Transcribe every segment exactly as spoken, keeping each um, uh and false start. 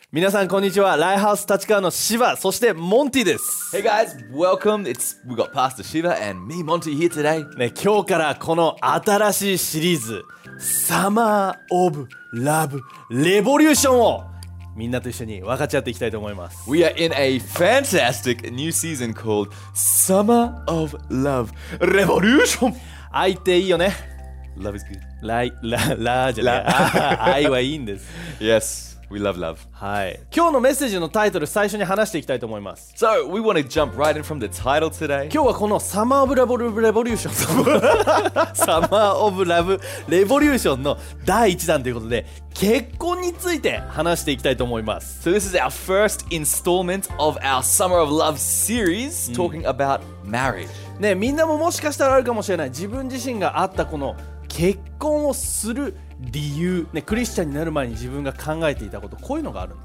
皆さんこんにちは。ライハウス立川のシバ、そしてモンティです。 Hey guys, welcome. It's we got Pastor Shiva and me, Monty, here today. ね、今日からこの新しいシリーズサマーオブラブレボリューションをみんなと一緒に分かち合っていきたいと思います。 We are in a fantastic new season called Summer of Love Revolution. 愛っていいよね。 Love is good. ライララじゃない愛はいいんです。 Yes, we love love. はい。今日のメッセージのタイトル最初に話していきたいと思います。 So we want to jump right in from the title today. 今日はこのサマーオブラブレボリューションサマーオブラブレボリューションのだいいちだんということで結婚について話していきたいと思います。 So this is our first installment of our Summer of Love series talking about marriage. ね、みんなももしかしたらあるかもしれない自分自身があったこの結婚をする理由、ね、クリスチャンになる前に自分が考えていたことこういうのがあるんです。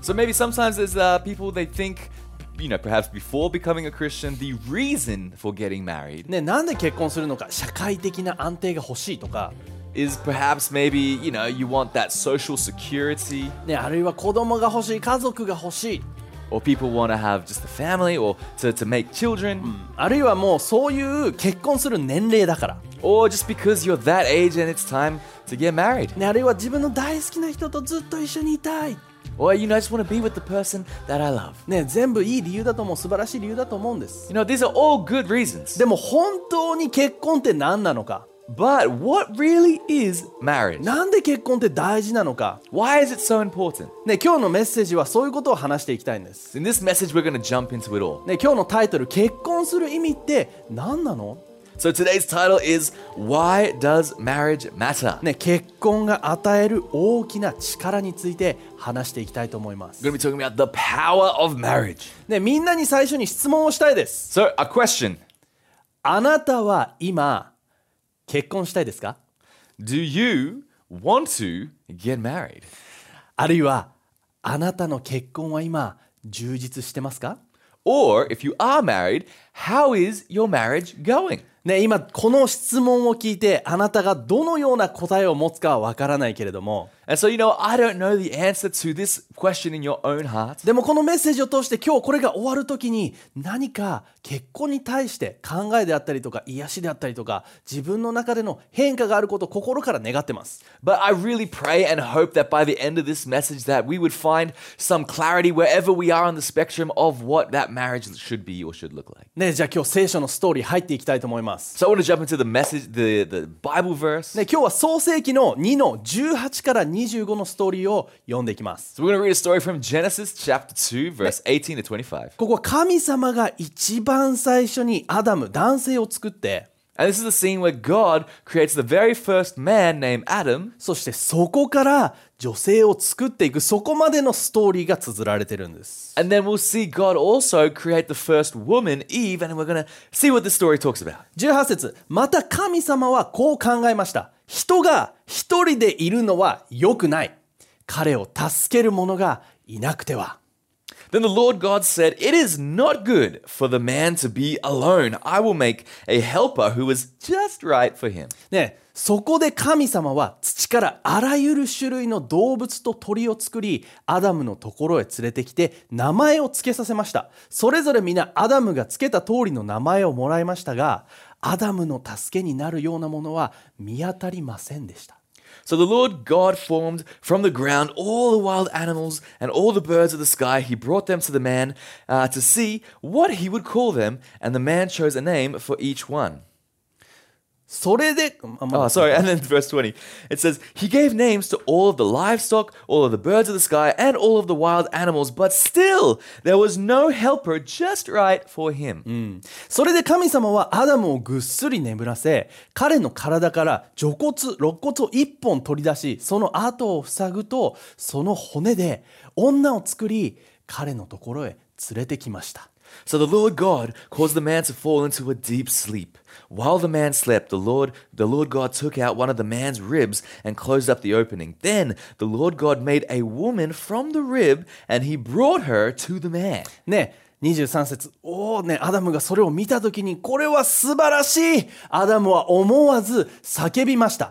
So maybe sometimes there's uh, people they think, you know, perhaps before becoming a Christian, the reason for getting married ね、なんで結婚するのか、社会的な安定が欲しいとか、 is perhaps maybe, you know, you want that social security, ね、あるいは子供が欲しい、家族が欲しい、 or people want to have just a family or to, to make children, あるいはもうそういう結婚する年齢だから、 or just because you're that age and it's time to get married, ね、あるいは自分の大好きな人とずっと一緒にいたい、 or, you know, I just want to be with the person that I love. ね、全部いい理由だと思う、素晴らしい理由だと思うんです。 You know, these are all good reasons. でも本当に結婚って何なのか、 But what really is marriage? なんで結婚って大事なのか、 Why is it so important? ね、今日のメッセージはそういうことを話していきたいんです。 In this message, we're going to jump into it all. ね、今日のタイトル、結婚する意味って何なの？ So today's title is Why Does Marriage Matter? ね、結婚が与える大きな力について話していきたいと思います。 We're going to be talking about the power of marriage. ね、みんなに最初に質問をしたいです。 So, a question. あなたは今結婚したいですか？ Do you want to get married? あるいはあなたの結婚は今充実してますか？ Or, if you are married, how is your marriage going? ね、今この質問を聞いてあなたがどのような答えを持つかはわからないけれども、 And so, you know, I don't know the answer to this question in your own heart. でもこのメッセージを通して今日これが終わるときに何か結婚に対して考えであったりとか癒しであったりとか自分の中での変化があることを心から願ってます。 But I really pray and hope that by the end of this message that we would find some clarity wherever we are on the spectrum of what that marriage should be or should look like. ね、じゃあ今日聖書のストーリー入っていきたいと思います。 So I want to jump into the message, the, the Bible verse. ね、今日は創世記のにのじゅうはちからにじゅうごのストーリーを読んでいきます。 So we're going to read a story from Genesis chapter two, verse eighteen to twenty-five. ここは神様が一番最初にアダム、男性を作って、 And this is the scene where God creates the very first man named Adam. そしてそこから女性を作っていく、そこまでのストーリーが綴られてるんです。 And then we'll see God also create the first woman, Eve, and we're going to see what this story talks about. じゅうはち節、また神様はこう考えました。人が一人でいるのは良くない。彼を助ける者がいなくては。 Then the Lord God said, It is not good for the man to be alone. I will make a helper who is just right for him. ね、そこで神様は土からあらゆる種類の動物と鳥を作り、アダムのところへ連れてきて名前を付けさせました。それぞれ皆アダムが付けた通りの名前をもらいましたが、アダムの助けになるようなものは見当たりませんでした。 So the Lord God formed from the ground all the wild animals and all the birds of the sky. He brought them to the man uh, to see what he would call them, and the man chose a name for each one. それで、あまあ Oh, sorry. And then verse twenty, it says, He gave names to all of the livestock, all of the birds of the sky, and all of the wild animals, but still there was no helper just right for him. それで神様はアダムをぐっすり眠らせ、彼の体から除骨、肋骨を一本取り出し、その後を塞ぐと、その骨で女を作り、彼のところへ連れてきました。 So the Lord God caused the man to fall into a deep sleep. While the man slept, the Lord, the Lord God took out one of the man's ribs and closed up the opening. Then the Lord God made a woman from the rib, and he brought her to the man. ね、にじゅうさん節、おーね、アダムがそれを見たときに、これは素晴らしい。アダムは思わず叫びました。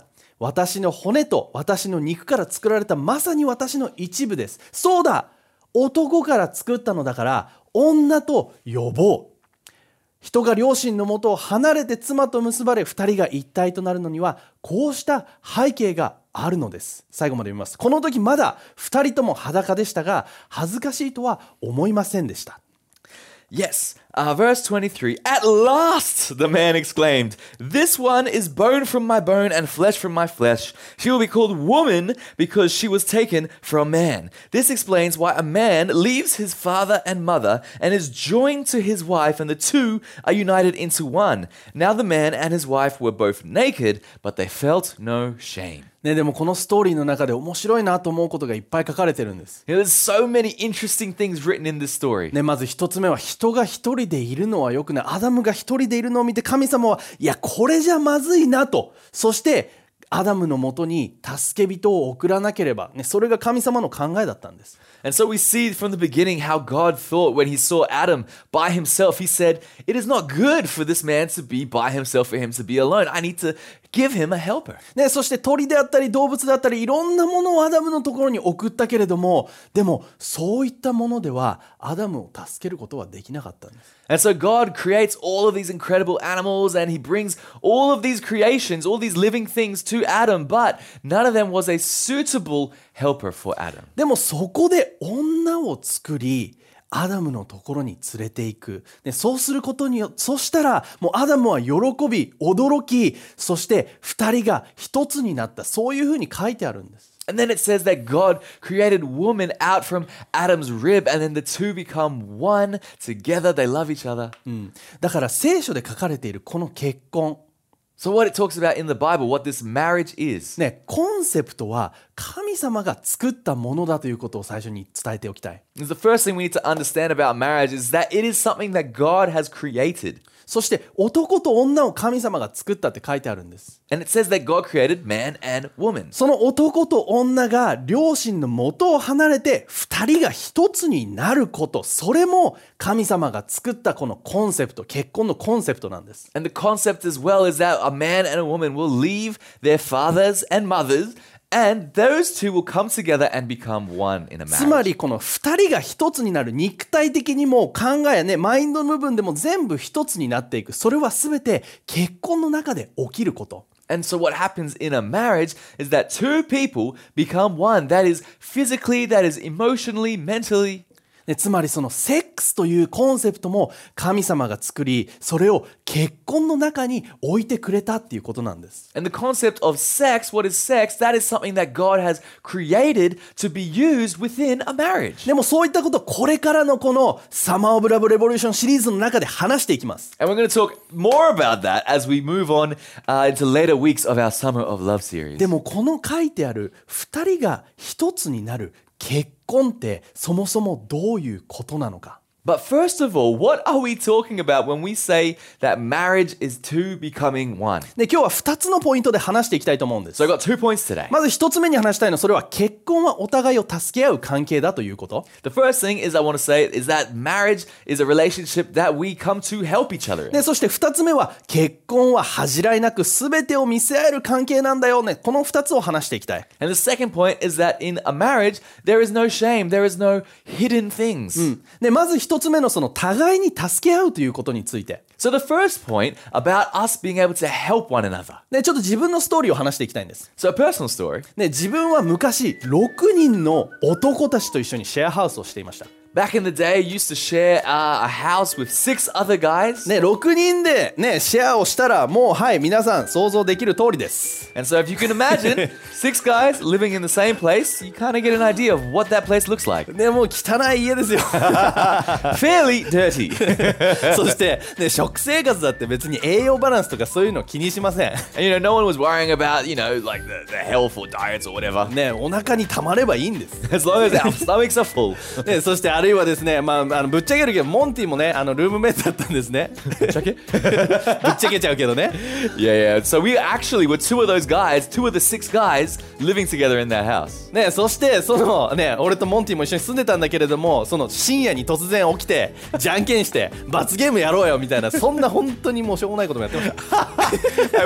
私の骨と私の肉から作られたまさに私の一部です。そうだ、男から作ったのだから女と呼ぼう。人が両親のもとを離れて妻と結ばれ二人が一体となるのにはこうした背景があるのです。最後まで読みます。この時まだ二人とも裸でしたが恥ずかしいとは思いませんでした。 Yes, uh, verse twenty-three. At last, the man exclaimed, this one is bone from my bone and flesh from my flesh. She will be called woman because she was taken from man. This explains why a man leaves his father and mother and is joined to his wife, and the two are united into one. Now the man and his wife were both naked, but they felt no shame. ね、でもこのストーリーの中で面白いなと思うことがいっぱい書かれてるんです。 You know, there's so many interesting things written in this story. ね、まず一つ目は人が一人でいるのは良くない。アダムが一人でいるのを見て神様はいやこれじゃまずいなと。そしてアダムのもとに助け人を送らなければ、ね、それが神様の考えだったんです。 And so we see from the beginning how God thought when he saw Adam by himself. He said, it is not good for this man to be by himself, for him to be alone. I need to give him a helper. ね、そして鳥であったり動物であったりいろんなものをアダムのところに送ったけれども、でもそういったものではアダムを助けることはできなかったんです。 And so God creates all of these incredible animals and he brings all of these creations, all these living things to Adam, but none of them was a suitable helper for Adam. でもそこで女を作りアダムのところに連れていく。で、そうすることによって、そしたらもうアダムは喜び、驚き、そして二人が一つになった。そういうふうに書いてあるんです。 And then it says that God created woman out from Adam's rib, and then the two become one together. They love each other. うん、だから聖書で書かれているこの結婚。 So what it talks about in the Bible, what this marriage is. ね、コンセプトは神様が作ったものだということを最初に伝えておきたい。 The first thing we need to understand about marriage is that it is something that God has created. そして男と女を神様が作ったって書いてあるんです。 And it says that God created man and woman. その男と女が両親の元を離れて二人が一つになること、それも神様が作ったこのコンセプト、結婚のコンセプトなんです。 And the concept as well is that a man and a woman will leave their fathers and mothers, and those two will come together and become one in a つま marriage. りこの二人が一つになる、肉体的にも考えやね、マインドの部分でも全部一つになっていく。それは全て結婚の中で起きること。 And so what happens in a marriage is that two people become one. That is physically, that is emotionally, mentally. ね、つまりそのセックスというコンセプトも神様が作り、それを結婚の中に置いてくれたっていうことなんです。 And the concept of sex, what is sex? That is something that God has created to be used within a marriage. でもそういったことをこれからのこのサマーオブラブレボリューションシリーズの中で話していきます。 And we're going to talk more about that as we move on uh, into later weeks of our Summer of Love series. でもこの書いてある二人が一つになる結婚ってそもそもどういうことなのか。 But first of all, what are we talking about when we say that marriage is two becoming one? で、今日は二つのポイントで話していきたいと思うんです。 So I got two points today. まず一つ目に話したいのは、それは結婚はお互いを助け合う関係だということ。 The first thing is I want to say is that marriage is a relationship that we come to help each other in. で、そして二つ目は結婚は恥じらいなく全てを見せ合える関係なんだよね。この二つを話していきたい。 And the second point is that in a marriage, there is no shame, there is no hidden things. で、まず一つ目のその互いに助け合うということについて。 So the first point about us being able to help one another. で、ちょっと自分のストーリーを話していきたいんです。 So a personal story. ね、自分は昔ろくにんの男たちと一緒にシェアハウスをしていました。 Back in the day, I used to share uh, a house with six other guys. ね、ろくにんでね、シェアをしたらもうはい、皆さん想像できる通りです。 And so if you can imagine six guys living in the same place, you kind of get an idea of what that place looks like. ね、もう汚い家ですよ。 Fairly dirty. そして、ね、食生活だって別に栄養バランスとかそういうの気にしません。 And you know, no one was worrying about, you know, like the, the health or diets or whatever. ね、お腹にたまればいいんです。 As long as our stomachs are full. ね、そしてあるいはですね、まあ、あのぶっちゃけるけどモンティもねあのルームメイトだったんですね。ぶっちゃけぶっちゃけちゃうけどね。 Yeah, yeah. So we actually were two of those guys, two of the six guys living together in that house. ね、そしてそのね俺とモンティも一緒に住んでたんだけれども、その深夜に突然起きてじゃんけんして罰ゲームやろうよみたいな、そんな本当にもうしょうもないこともやってました。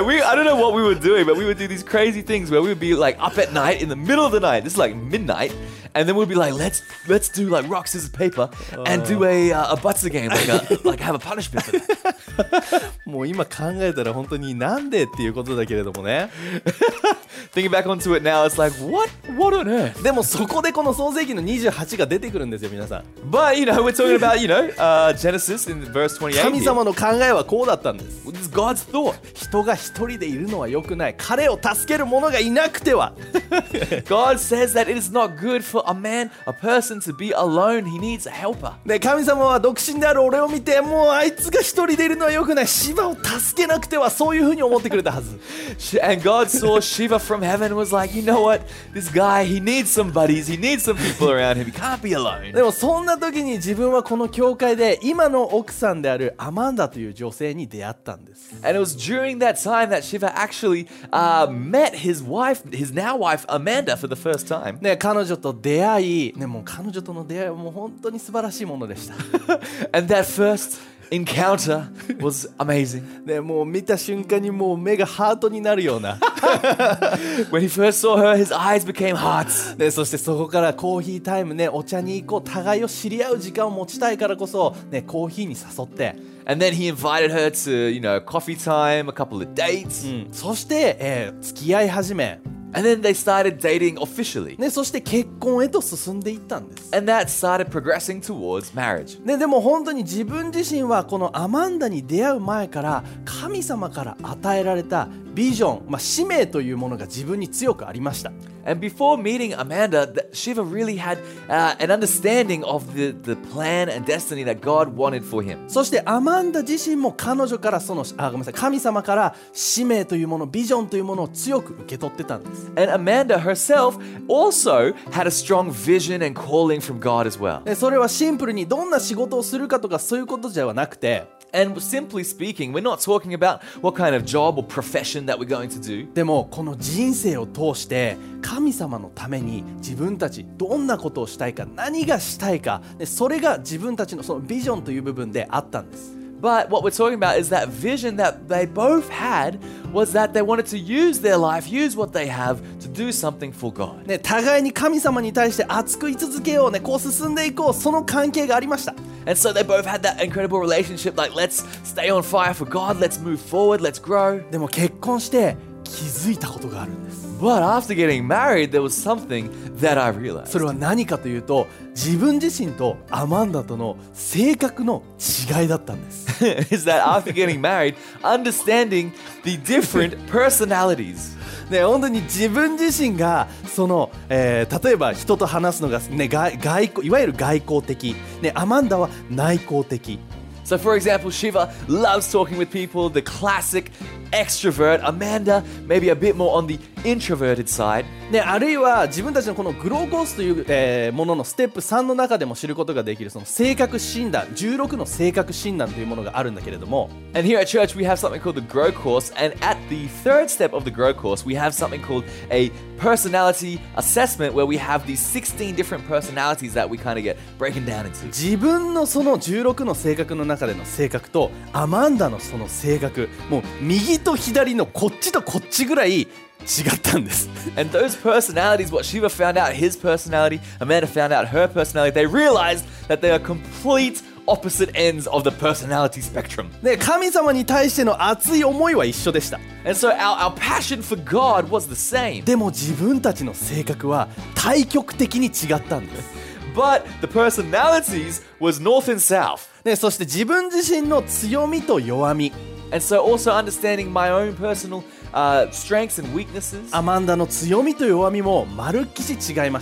And we, I don't know what we were doing, but we would do these crazy things where we would be like up at night in the middle of the night. This is like midnight. And then we'd be like, let's let's do like rock, scissors, paper and do a, uh, a butts game, like, a, like have a punishment for that. もう今考えたら本当になんでっていうことだけれどもね。 Thinking back onto it now, it's like, what? What on earth? でもそこでこの創世記のにじゅうはちが出てくるんですよ皆さん。 But, you know, we're talking about, you know, uh, Genesis in verse twenty-eight. 神様の考えはこうだったんです。 This is God's thought. 人が一人でいるのは良くない。彼を助ける者がいなくては。 God says that it is not good for a man, a person to be alone. He needs a helper. で神様は独身である俺を見て、もうあいつが一人でいるのは良くない。シバを助けなくては、そういうふうに思ってくれたはず。 And God saw Shiva from heaven and was like, you know what? This guy, he needs some buddies. He needs some people around him. He can't be alone. でもそんな時に自分はこの教会で今の奥さんであるアマンダという女性に出会ったんです。 And it was during that time that Shiva actually uh, met his wife, his now wife Amanda, for the first time. ね、彼女と出会い、ね、もう彼女との出会いはもう本当に素晴らしいものでした。 And that first encounter was amazing. ね、もう見た瞬間にもう目がハートになるような。 When he first saw her, his eyes became hearts. ね、そしてそこからコーヒータイムね、お茶に行こう、互いを知り合う時間を持ちたいからこそ、ね、コーヒーに誘って、 And then he invited her to, you know, coffee time, a couple of dates. うん、そして、えー、付き合い始め、 And then they started dating officially. ね、そして結婚へと進んでいったんです。 And that started progressing towards marriage. ね、でも本当に自分自身はこのアマンダに出会う前から神様から与えられたビジョン、まあ、使命というものが自分に強くありました。 And before meeting Amanda, th- Shiva really had uh, an understanding of the, the plan and destiny that God wanted for him. そしてアマンダ自身も彼女からそのあごめんなさい神様から使命というもの、ビジョンというものを強く受け取ってたんです。 And Amanda herself also had a strong vision and calling from God as well. でそれはシンプルにどんな仕事をするかとかそういうことではなくて、 And simply speaking, we're not talking about what kind of job or profession that we're going to do. でもこの人生を通して神様のために自分たちどんなことをしたいか、何がしたいか、でそれが自分たちのそのビジョンという部分であったんです。 But what we're talking about is that vision that they both had was that they wanted to use their life, use what they have to do something for God. ね、互いに神様に対して熱く居続けようね、こう進んでいこう、その関係がありました。 And so they both had that incredible relationship, like let's stay on fire for God, let's move forward, let's grow. でも結婚して気づいたことがあるんです。 But after getting married, there was something that I realized. それは何かというと、自分自身とアマンダとの性格の違いだったんです。 Is that after getting married, understanding the different personalities. ね、本当に自分自身がその、えー、例えば人と話すのが、ね、外外交いわゆる外交的、ね、アマンダは内向的。 So for example, Shiva loves talking with people, the classic extrovert. Amanda, maybe a bit more on the introverted side. ね、あるいは自分たちのこのグローコースという、えー、もののステップさんの中でも知ることができるその性格診断、じゅうろくの性格診断というものがあるんだけれども、 And here at church we have something called the Grow Course, and at the third step of the Grow Course we have something called a personality assessment where we have these sixteen different personalities that we kind of get breaken down into. 自分のそのじゅうろくの性格の中での性格とアマンダのその性格、もう右と左のこっちとこっちぐらい違ったんです。 And those personalities, what Shiva found out his personality, Amanda found out her personality, they realized that they are complete opposite ends of the personality spectrum. で、神様に対しての熱い思いは一緒でした。 And so our, our passion for God was the same. でも自分たちの性格は対極的に違ったんです。 But the personalities was north and south. ね、そして自分自身の強みと弱み、 And so also understanding my own personal uh, strengths and weaknesses. アマンダの強みと弱みもまるっきし違いました。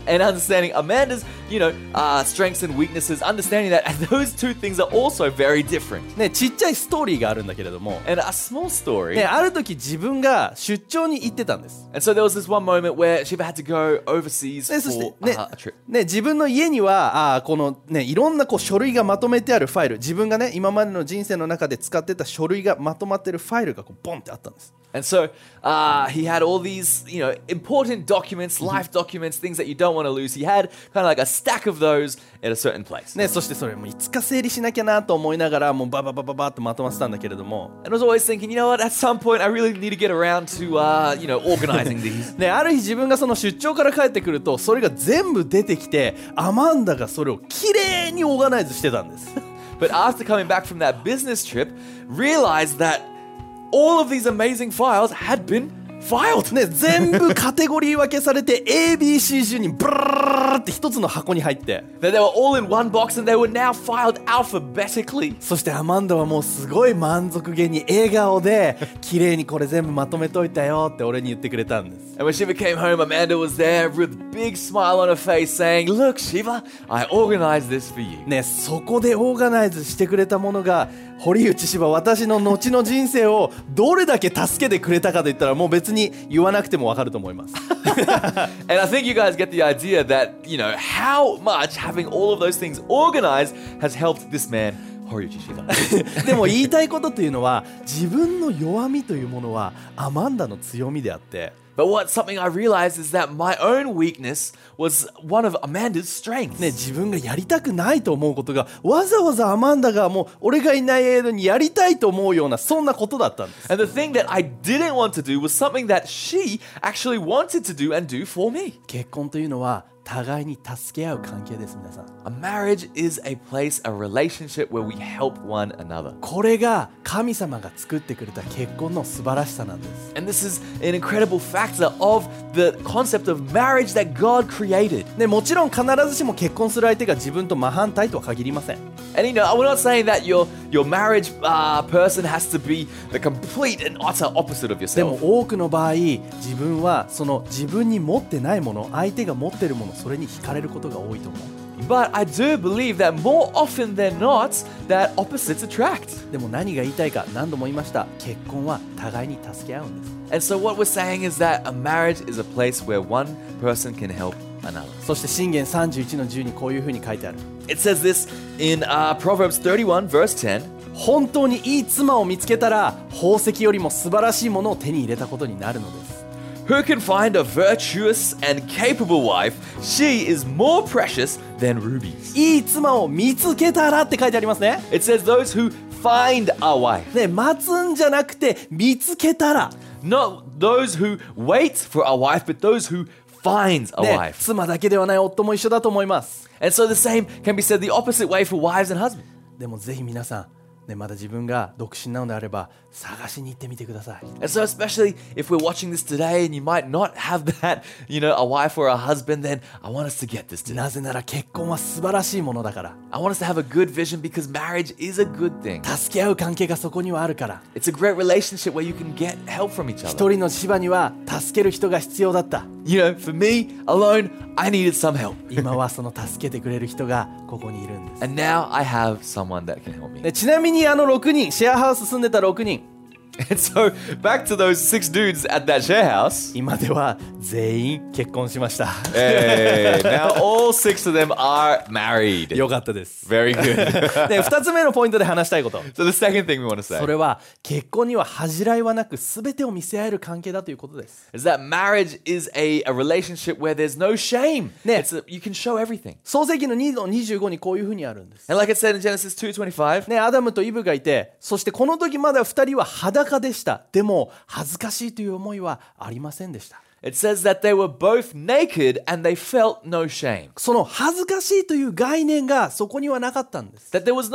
and understanding Amanda's, you know, uh, strengths and weaknesses, understanding that those two things are also very different. ね、ちっちゃいストーリーがあるんだけれども、 And a small story. ね、ある時自分が出張に行ってたんです。 And so there was this one moment where Shiva had to go overseas ね、そして for ね uh, a trip. ね、自分の家にはあーこの、ね、いろんなこう書類がまとめてあるファイル、自分がね今までの人生の中で使ってた書類がまとまってるファイルがこうボンってあったんです。 And so uh, he had all these, you know, important documents, life documents, things that you don't want to lose. He had kind of like a stack of those at a certain place. ね、そしてそれもういつか整理しなきゃなと思いながらもうバババババッとまとまってたんだけれども、 And I was always thinking, you know what, at some point I really need to get around to, uh, you know, organizing these. ね、ある日自分がその出張から帰ってくるとそれが全部出てきてアマンダがそれをきれいにオーガナイズしてたんです。 But after coming back from that business trip, realized that all of these amazing files had been filed. ね、全部カテゴリー分けされて エービーシー 順にブラーって一つの箱に入って、 That they were all in one box and they were now filed alphabetically. そしてアマンダはもうすごい満足げに笑顔で綺麗にこれ全部まとめといたよって俺に言ってくれたんです。 And when Shiva came home, Amanda was there with a big smile on her face saying, Look, Shiva, I organized this for you. ね、そこでオーガナイズしてくれたものが堀内芝、私の後の人生をどれだけ助けてくれたかといったらもう別に言わなくても分かると思います。 And I think you guys get the idea that, you know, how much having all of those things organized has helped this man, Horiuchi Shiva. でも言いたいことというのは自分の弱みというものはアマンダの強みであって、 But what something I realized is that my own weakness was one of Amanda's strengths. ね、自分がやりたくないと思うことがわざわざアマンダがもう俺がいない間にやりたいと思うようなそんなことだったんです。 And the thing that I didn't want to do was something that she actually wanted to do and do for me. 結婚というのは互いに助け合う関係です。皆さん、 A marriage is a place, a relationship where we help one another. これが神様が作ってくれた結婚の素晴らしさなんです。 And this is an incredible factor of the concept of marriage that God created. ね、もちろん必ずしも結婚する相手が自分と真反対とは限りません。 And you know, we're not saying that your your marriage uh, person has to be the complete and utter opposite of でも yourself. 多くの場合自分はその自分に持ってないもの、相手が持ってるもの、それに惹かれることが多いと思う。 But I do believe that more often than not, that opposites attract. でも何が言いたいか、何度も言いました。結婚は互いに助け合うんです。 And so what we're saying is that a marriage is a place where one person can help another. そして箴言さんじゅういちのじゅうにこういうふうに書いてある。 It says this in uh, Proverbs thirty-one, verse ten. 本当にいい妻を見つけたら宝石よりも素晴らしいものを手に入れたことになるのです。 Who can find a virtuous and capable wife? She is more precious than rubies. いい妻を見つけたらって書いてありますね。 It says those who find a wife. ね、待つんじゃなくて見つけたら。 Not those who wait for a wife, but those who finds a ね、 wife. 妻だけではない夫も一緒だと思います。 And so the same can be said the opposite way for wives and husbands. でもぜひ皆さん、ね、まだ自分が独身なのであれば探しに行ってみてください。 And so especially if we're watching this today and you might not have that, you know, a wife or a husband, then I want us to get this today. なぜなら結婚は素晴らしいものだから。 I want us to have a good vision because marriage is a good thing. 助け合う関係がそこにはあるから。 It's a great relationship where you can get help from each 一 other. 人の芝には助ける人が必要だった。 You know, for me alone, I needed some help. 今はその助けてくれる人がここにいるんです。 And now I have someone that can help me. でちなみにあのろくにん、シェアハウス住んでたろくにん、 And so back to those six dudes at that share house. 今では全員結婚しました。 Hey, now all six of them are married. よかったです。 Very good. でふたつめのポイントで話したいこと、 So the second thing we want to say それは結婚には恥じらいはなく全てを見せ合える関係だということです。 is that marriage is a, a relationship where there's no shame. 네. It's a, you can show everything. 創世記のにのにじゅうごにこういうふうにあるんです。 And like it said in Genesis two twenty-five, ね、アダムとイブがいて、そしてこの時まだふたりは裸でした。でも恥ずかしいという思いはありませんでした。 it says that they were both naked and they felt no shame. その恥ずかしいという概念がそこにはなかったんです。 That there was no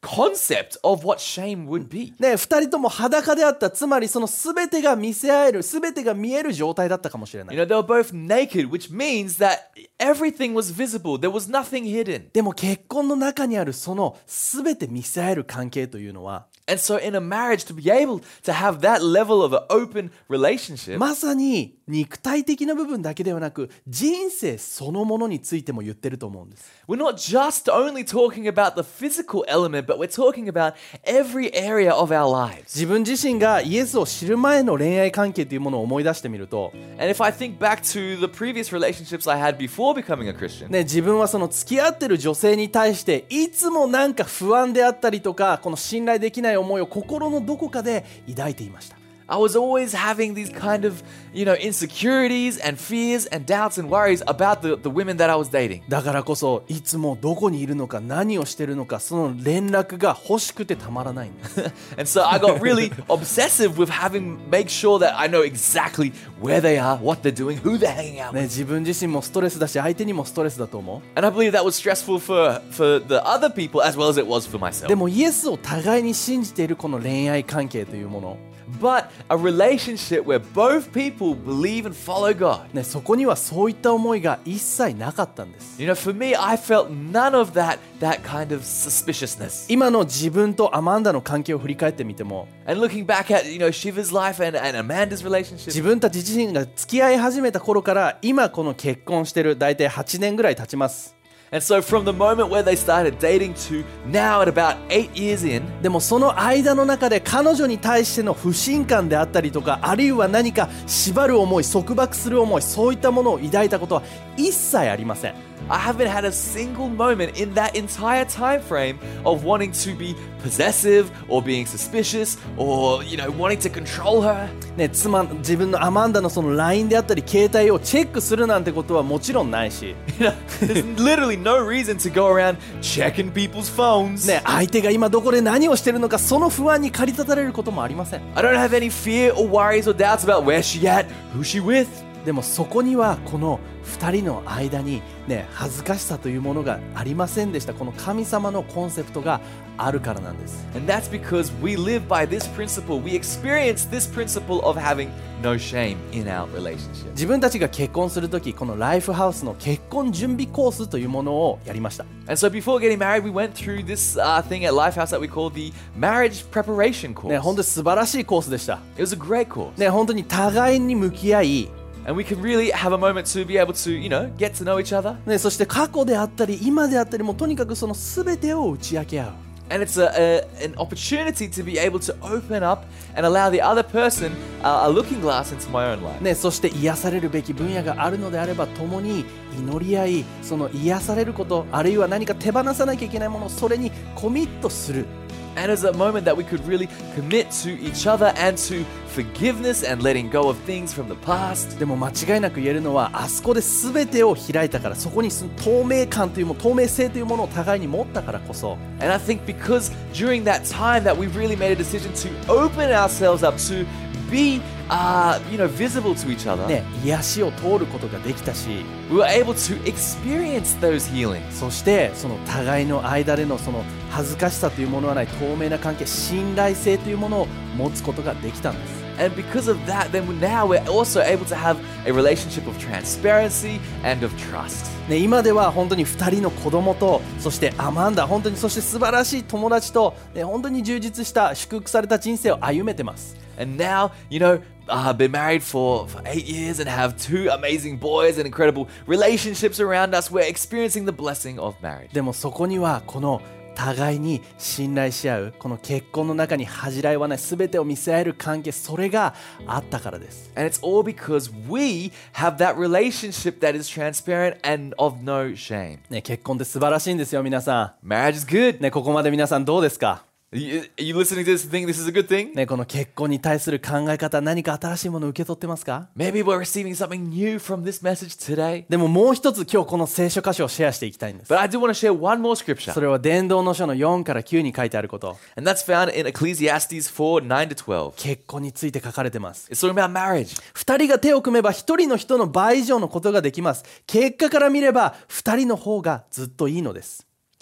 concept of what shame would be. ね、二人とも裸であった。つまりその全てが見せ合える、全てが見える状態だったかもしれない。 You know, they were both naked, which means that everything was visible. There was nothing hidden. でも結婚の中にあるその全て見せ合える関係というのは、 And so in a marriage, to be able to have that level of an open relationship, まさに肉体的な部分だけではなく、人生そのものについても言ってると思うんです。 we're not just only talking about the physical element, but we're talking about every area of our lives. 自分自身がイエスを知る前の恋愛関係というものを思い出してみると、 And if I think back to the previous relationships I had before becoming a Christian, ね、自分はその付き合ってる女性に対していつもなんか不安であったりとか、この信頼できない思いを心のどこかで抱いていました。 I was always having these kind of, you know, insecurities and fears and doubts and worries about the, the women that I was dating. だからこそいつもどこにいるのか何をしてるのか、その連絡が欲しくてたまらないんです。 And so I got really obsessive with having make sure that I know exactly where they are, what they're doing, who they're hanging out ね、 with. 自分自身もストレスだし相手にもストレスだと思う。 And I believe that was stressful for, for the other people as well as it was for myself. でもイエスを互いに信じているこの恋愛関係というもの、 But a relationship where both people believe and follow God. ね、そこにはそういった思いが一切なかったんです。 You know, for me, I felt none of that, that kind of suspiciousness. 今の自分とアマンダの関係を振り返ってみても、 And looking back at, you know, Shiva's life and, and Amanda's relationship, 自分たち自身が付き合い始めた頃から今この結婚してる大体はちねんぐらい経ちます。 and so from the moment where they started dating to now at about eight years in, でもその間の中で彼女に対しての不信感であったりとか、あるいは何か縛る思い、束縛する思い、そういったものを抱いたことは一切ありません。 I haven't had a single moment in that entire time frame of wanting to be possessive or being suspicious or, you know, wanting to control her. ね、妻、自分のアマンダのその ライン であったり携帯をチェックするなんてことはもちろんないし、 You know, there's literally no reason to go around checking people's phones. ね、相手が今どこで何をしてるのか、その不安に駆り立たれることもありません。 I don't have any fear or worries or doubts about where she at, who she with. でもそこにはこのふたりの間に、ね、恥ずかしさというものがありませんでした。この神様のコンセプトがあるからなんです。 And that's because we live by this principle. We experience this principle of having no shame in our relationship. 自分たちが結婚するとき、このライフハウスの結婚準備コースというものをやりました。 And so before getting married, we went through this uh, thing at Lifehouse that we call the marriage preparation course. ね、本当に素晴らしいコースでした。 It was a great course. ね、本当に互いに向き合い、 And we can really have a moment to be able to, you know, get to know each other. ね、そして過去であったり今であったり、もうとにかくその全てを打ち明け合う。 And it's a, a, an opportunity to be able to open up and allow the other person uh, a looking glass into my own life. ね、そして癒されるべき分野があるのであれば共に祈り合い、その癒されること、あるいは何か手放さなきゃいけないもの、それにコミットする。 And as a moment that we could really commit to each other and to forgiveness and letting go of things from the past. でも間違いなく言えるのは、あそこで全てを開いたから、そこにその透明感というもの、透明性というものを互いに持ったからこそ、 And I think because during that time that we really made a decision to open ourselves up to be, uh, you know, visible to each other, ね、癒しを通ることができたし、 we were able to experience those healings. そしてその互いの間でのその恥ずかしさというものはない透明な関係、信頼性というものを持つことができたんです。 And because of that, then now we're also able to have a relationship of transparency and of trust. ね、今では本当にふたりの子供と、そしてアマンダ、本当にそして素晴らしい友達と、ね、本当に充実した祝福された人生を歩めてます。 And now, you know, I've been married for, for eight years and have two amazing boys and incredible relationships around us. We're experiencing the blessing of marriage. でもそこにはこの互いに信頼し合う、この結婚の中に恥じらいはない全てを見せ合える関係、それがあったからです。 And it's all because we have that relationship that is transparent and of no shame. ね、結婚って素晴らしいんですよ、皆さ Marriage is good. ん。ね、ここまで皆さんどうですか？ You, are you listening to this and think this is a good thing? ね、この結婚に対する考え方、何か新しいものを受け取ってますか？ Maybe we're receiving something new from this message today. でももう一つ今日この聖書箇所をシェアしていきたいんです。 But I do want to share one more scripture. それは伝道の書のよんからきゅうに書いてあること。 And that's found in Ecclesiastes four, nine to twelve. 結婚について書かれてます。 It's talking about marriage. 二人が手を組めば一人の人の倍以上のことができます。結果から見れば二人の方がずっといいのです。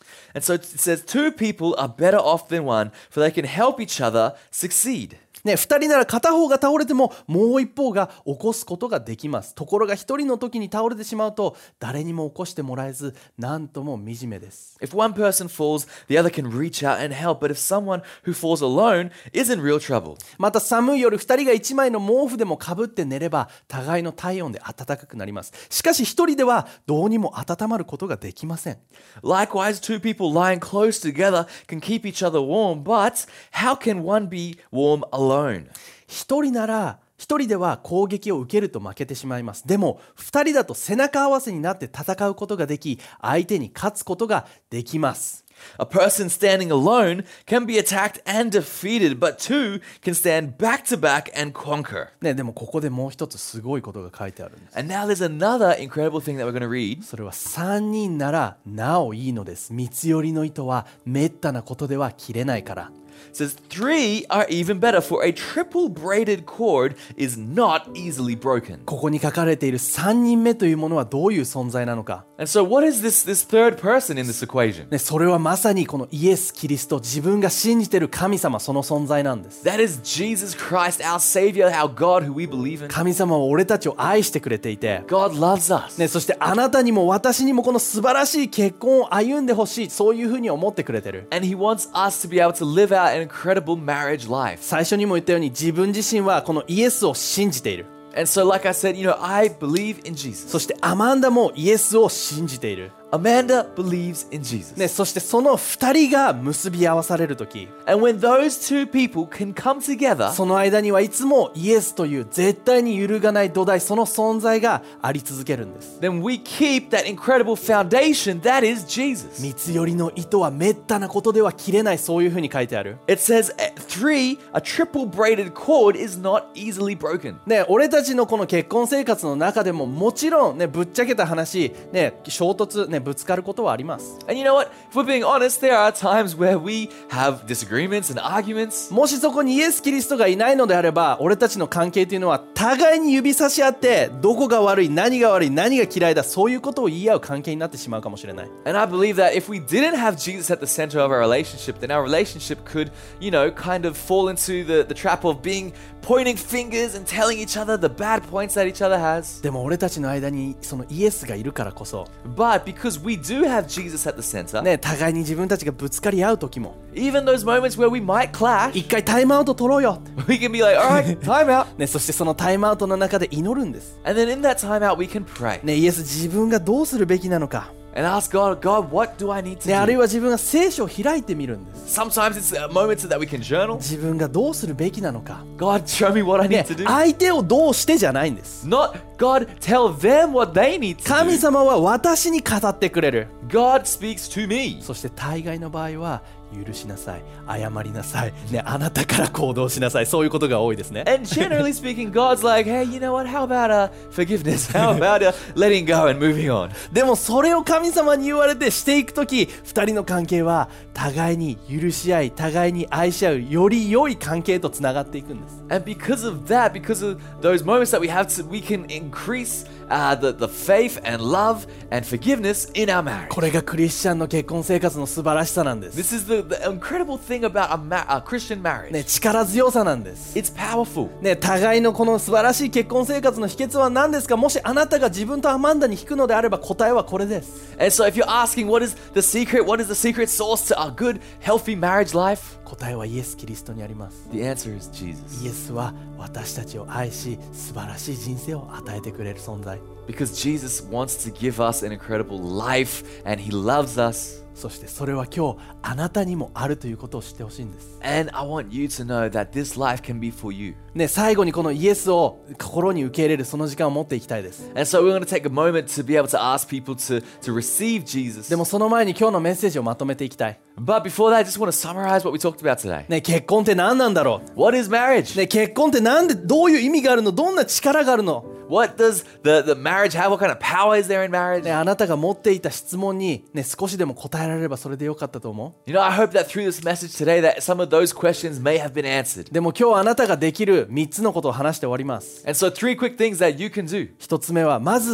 And so it says, two people are better off than one, for they can help each other succeed. ね、ふたりなら片方が倒れてももう一方が起こすことができます。ところがひとりの時に倒れてしまうと誰にも起こしてもらえず、なんとも惨めです。 If one person falls, the other can reach out and help. But if someone who falls alone is in real trouble. また寒い夜ふたりがいちまいの毛布でもかぶって寝れば互いの体温で暖かくなります。しかしひとりではどうにも温まることができません。 Likewise, two people lying close together can keep each other warm. But how can one be warm alone? 一人なら一人では攻撃を受けると負けてしまいます。でも二人だと背中合わせになって戦うことができ、相手に勝つことができます。 A person standing alone can be attacked and defeated, but two can stand back to back and conquer. ね、でもここでもう一つすごいことが書いてあるんです。 And now there's another incredible thing that we're going to read. それは三人ならなおいいのです。三つ寄りの糸はめったなことでは切れないから。 It says three are even better, for a triple braided cord is not easily broken. ここに書かれている三人目というものはどういう存在なのか。 And so what is this, this third person in this equation? ね、それはまさにこのイエス・キリスト、自分が信じている神様、その存在なんです。 That is Jesus Christ, our Savior, our God who we believe in. 神様は俺たちを愛してくれていて、 God loves us. ね、そしてあなたにも私にもこの素晴らしい結婚を歩んでほしい、そういうふうに思ってくれてる。 And He wants us to be able to live out an incredible marriage life. 最初にも言ったように自分自身はこのイエスを信じている。 And so like I said, you know, I believe in Jesus. そしてアマンダもイエスを信じている。 Amanda believes in Jesus. ね、そしてその二人が結び合わされるとき、 And when those two people can come together, その間にはいつもイエスという絶対に揺るがない土台、その存在があり続けるんです。 then we keep that incredible foundation that is Jesus. 三つ寄りの糸はめったなことでは切れない、そういうふうに書いてある。 It says uh, three, a triple braided cord is not easily broken. ね、俺たちのこの結婚生活の中でももちろんね、ぶっちゃけた話、ね、衝突、ね、ぶつかることはあります。 And you know what? If we're being honest, there are times where we have disagreements and arguments. もしそこにイエス・キリストがいないのであれば、俺たちの関係というのは互いに指差し合って、どこが悪い、何が悪い、何が嫌いだ、そういうことを言い合う関係になってしまうかもしれない。 And I believe that if we didn't have Jesus at the center of our relationship, then our relationship could, you know, kind of fall into the, the trap of being pointing fingers and telling each other the bad points that each other has. でも俺たちの間にそのイエスがいるからこそ、 But because we do have Jesus at the center, ね、互いに自分たちがぶつかり合う時も、 even those moments where we might clash, 一回タイムアウト取ろうよ、 we can be like, all right, time out. ね、そしてそのタイムアウトの中で祈るんです。 And then in that time out, we can pray ね、イエス、自分がどうするべきなのか、 and ask God, God, what do I need to ね、あるい do? は自分が聖書を開いてみるんです。 Sometimes it's uh, moments that we can journal. 自分がどうするべきなのか、 God, show me what I ね need to do. 相手をどうしてじゃないんです。 Not God, tell them what they need to 神 do. 様は私に語ってくれる。 God speaks to me. そして大概の場合は許しなさい、謝りなさい、ね、あなたから行動しなさい、そういうことが多いですね。 And generally speaking, God's like, hey, you know what? How about uh, forgiveness? How about uh, letting go and moving on? でもそれを神様に言われてしていくとき、二人の関係は互いに許し合い、互いに愛し合う、より良い関係とつながっていくんです。 And because of that, because of those moments that we have, to, we can increase uh, the, the faith and love and forgiveness in our marriage. これがクリスチャンの結婚生活の素晴らしさなんです。 This is the, the incredible thing about a, ma- a Christian marriage. ね、力強さなんです。 It's powerful. ね、互いのこの素晴らしい結婚生活の秘訣は何ですか？もしあなたが自分とアマンダに引くのであれば答えはこれです。 And so if you're asking what is the secret, what is the secret sauce to a good, healthy marriage life? 答えはイエス・キリストにあります。 The answer is Jesus. イエスは私たちを愛し、素晴らしい人生を与えてくれる存在。 Because Jesus wants to give us an incredible life and He loves us. そしてそれは今日あなたにもあるということを知ってほしいんです。 And I want you to know that this life can be for you. ね、最後にこのイエスを心に受け入れるその時間を持っていきたいです。 And so we're going to take a moment to be able to ask people to, to receive Jesus. でもその前に今日のメッセージをまとめていきたい。 But before that, I just want to summarize what we talked about today. ね、結婚って何なんだろ What is marriage? う？ね、結婚ってなんでどういう意味があるの？どんな力があるの？ What does the, the marriage have? What kind of power is there in marriage? ね、あなたが持っていた質問に、ね、少しでも答えられればそれでよかったと思 You know, I hope that through this message today that some of those questions may have been answered. う。でも今日あなたができるみっつのことを話して終わります。 And so three quick things that you can do. ひとつめはまず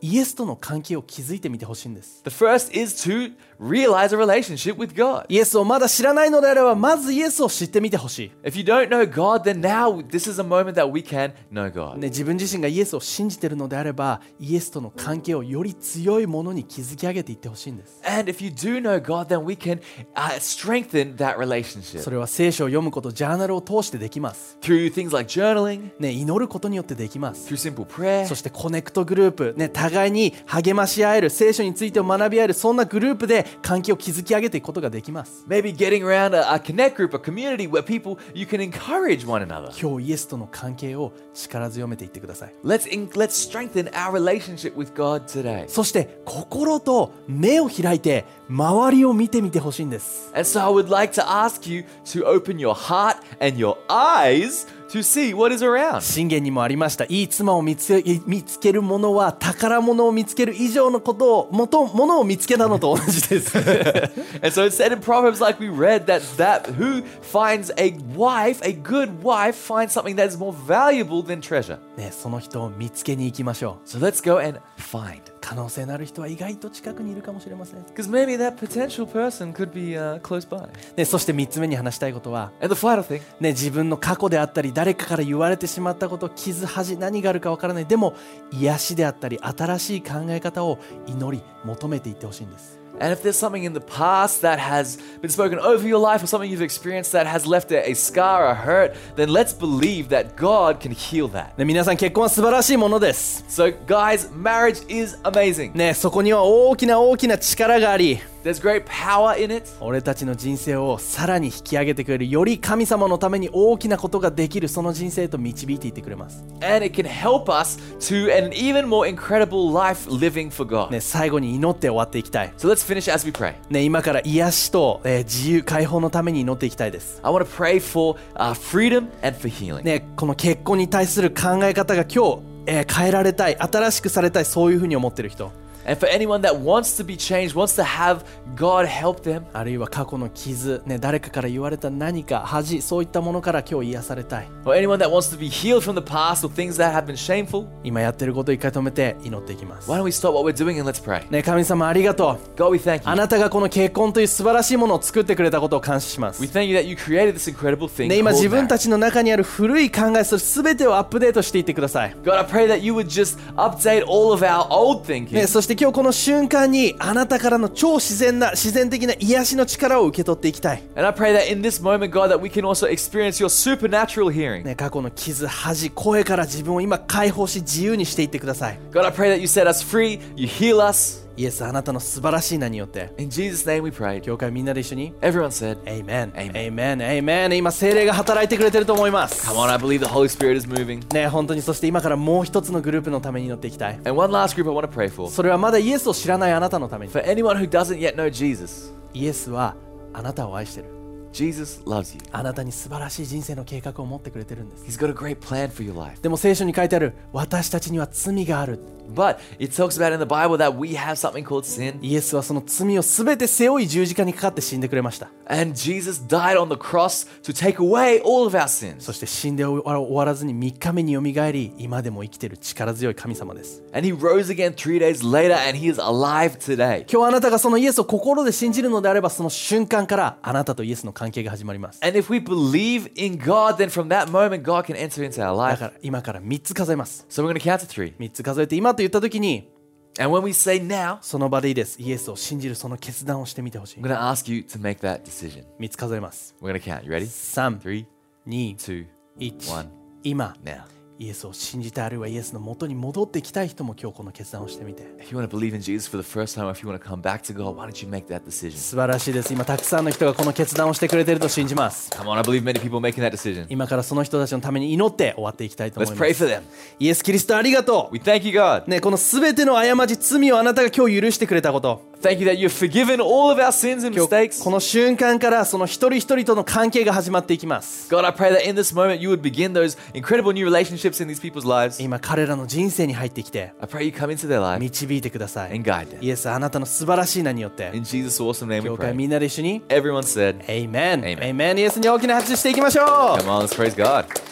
イエスとの関係を築いてみてほしいんです。 The first is to realize a relationship with God. イエスをまだ知らないのであれば、まずイエスを知ってみてほしい。 If you don't know God, then now this is a moment that we can know God. ね、自分自身がイエスを信じているのであれば、イエスとの関係をより強いものに築き上げていってほしいんです。 And if you do know God, then we can uh, strengthen that relationship それは聖書を読むこと、ジャーナルを通してできます。 through things like journaling, ね、祈ることによってできます。 through simple prayer, そしてコネクトグループ、ね、互いに励まし合える、聖書についてを学び合える、そんなグループで関係を築き上げていくことができます。 maybe getting around a, a connect group, a community where people you can encourage one another. 今日イエスとの関係を力強めていってください。 Let's in, let's strengthen our relationship with God today. そして心と目を開いて周りを見てみてほしいんです。 And so I would like to ask you to open your heart and your eyes to see what is around. 箴言にもありました。いい妻を見つけ、見つける者は宝物を見つける以上のことを、もとものを見つけたのと同じです。 And so it said in Proverbs, like we read, that that who finds a wife, a good wife, finds something that is more valuable than treasure. ね、その人を見つけに行きましょう。 So let's go and find. 可能性のある人は意外と近くにいるかもしれません。 Because maybe that potential person could be uh, close by. ね、そしてみっつめに話したいことは、 And the final thing, ね、自分の過去であったり誰かから言われてしまったこと、傷恥、何があるかわからない。でも癒しであったり新しい考え方を祈り求めていってほしいんです。 and if there's something in the past that has been spoken over your life or something you've experienced that has left a, a scar, a hurt, then let's believe that God can heal that. ね、皆さん結婚は素晴らしいものです。 So guys, marriage is amazing. ね、そこには大きな大きな力があり、 There's great power in it. 俺たちの人生をさらに引き上げてくれる、より神様のために大きなことができる、その人生へと導いていってくれます。 And it can help us to an even more incredible life living for God. ね、最後に祈って終わっていきたい。 So let's finish as we pray. ね、今から癒しと、えー自由解放のために祈っていきたいです。 I want to pray for uh, freedom and for healing. ね、この結婚に対する考え方が今日、えー変えられたい、新しくされたい、そういうふうに思ってる人、 And for anyone that wants to be changed, wants to have God help them, あるいは過去の傷、ね、誰かから言われた何か恥、そういったものから今日癒されたい。 or anyone that wants to be healed from the past or things that have been shameful, 今やってることを一回止めて祈っていきます。 why don't we stop what we're doing and let's pray. ね、神様ありがとう。 God, we thank あ you. なたがこの結婚という素晴らしいものを作ってくれたことを感謝します。 We thank you that you created this incredible thing ね、今 called 自分 marriage. たちの中にある古い考え、それ全てをアップデートしていってください。 God, I pray that you would just update all of our old thinking. ね、そして今日この瞬間にあなたからの超自然な自然的な癒しの力を受け取っていきたい。 And I pray that in this moment, God, that we can also experience your supernatural hearing. ね、過去の傷、恥、声から自分を今解放し自由にしていってください。 God, I pray that you set us free, you heal us. イエス、あなたの素晴らしい名によって、 In Jesus' name we pray. 教会みんなで一緒に Everyone said, Amen, Amen. Amen, Amen。 今聖霊が働いてくれてると思います。 Come on, I believe the Holy Spirit is moving. ね、本当に。そして今からもう一つのグループのために祈っていきたい。 And one last group I want to pray for. それはまだイエスを知らないあなたのために。 For anyone who doesn't yet know Jesus, イエスはあなたを愛してる。 Jesus loves you. あなたに素晴らしい人生の計画を持ってくれてるんです。 He's got a great plan for your life. でも聖書に書いてある、私たちには罪がある。 But it talks about in the Bible that we have something called sin. イエスはその罪をすべて背負い十字架にかかって死んでくれました。 And Jesus died on the cross to take away all of our sins. そして死んで終わらずにみっかめによみがえり、今でも生きている力強い神様です。 And he rose again three days later and he is alive today. 今日あなたがそのイエスを心で信じるのであれば、その瞬間からあなたとイエスの関係が始まります。 And if we believe in God, then from that moment God can enter into our だ life. から今からみっつ数えます。 So we're going to count to three. みっつ数えて今と言った時に、 And when we say now, その場でいいです。イエスを信じるその決断をしてみてほしい。 I'm going to ask you to make that decision. みっつ数えます。 We're going to count. You ready? さん、 Three, に、 two, いち one. 今 Now. イエスを信じて、あるいはイエスの元に戻ってきたい人も今日この決断をしてみて。 If you want to believe in Jesus for the first time, or if you want to come back to God, why don't you make that decision? 素晴らしいです。今たくさんの人がこの決断をしてくれていると信じます。 Come on, I believe many people are making that decision. 今からその人たちのために祈って終わっていきたいと思 Let's いま pray す。 for them. イエス・キリストありがと We thank you, God. う。ね、このすべての過ち、罪をあなたが今日許してくれたこと。 Thank you that you've forgiven all of our sins and 今日 mistakes. この瞬間からその一人一人との関係が始まっていきます。 God, I pray that in this moment you would begin those incredible new relationships in these people's lives. 今彼らの人生に入ってきて I pray you come into their life 導いてください。 and guide them. イエス、あなたの素晴らしい名によって In Jesus' awesome name we 教会 pray. みんなで一緒に Everyone said, Amen Amen. Amen。イエスに大きな拍手していきましょう。 Come on, let's praise God.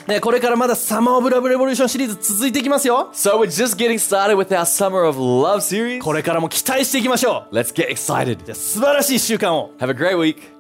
ね、これからまだサマーオブラブレボリューションシリーズ続いていきますよ。 So we're just getting started with our Summer of Love series. これからも期待していきましょう。 Let's get excited. じゃあ素晴らしいいっしゅうかんを。 Have a great week.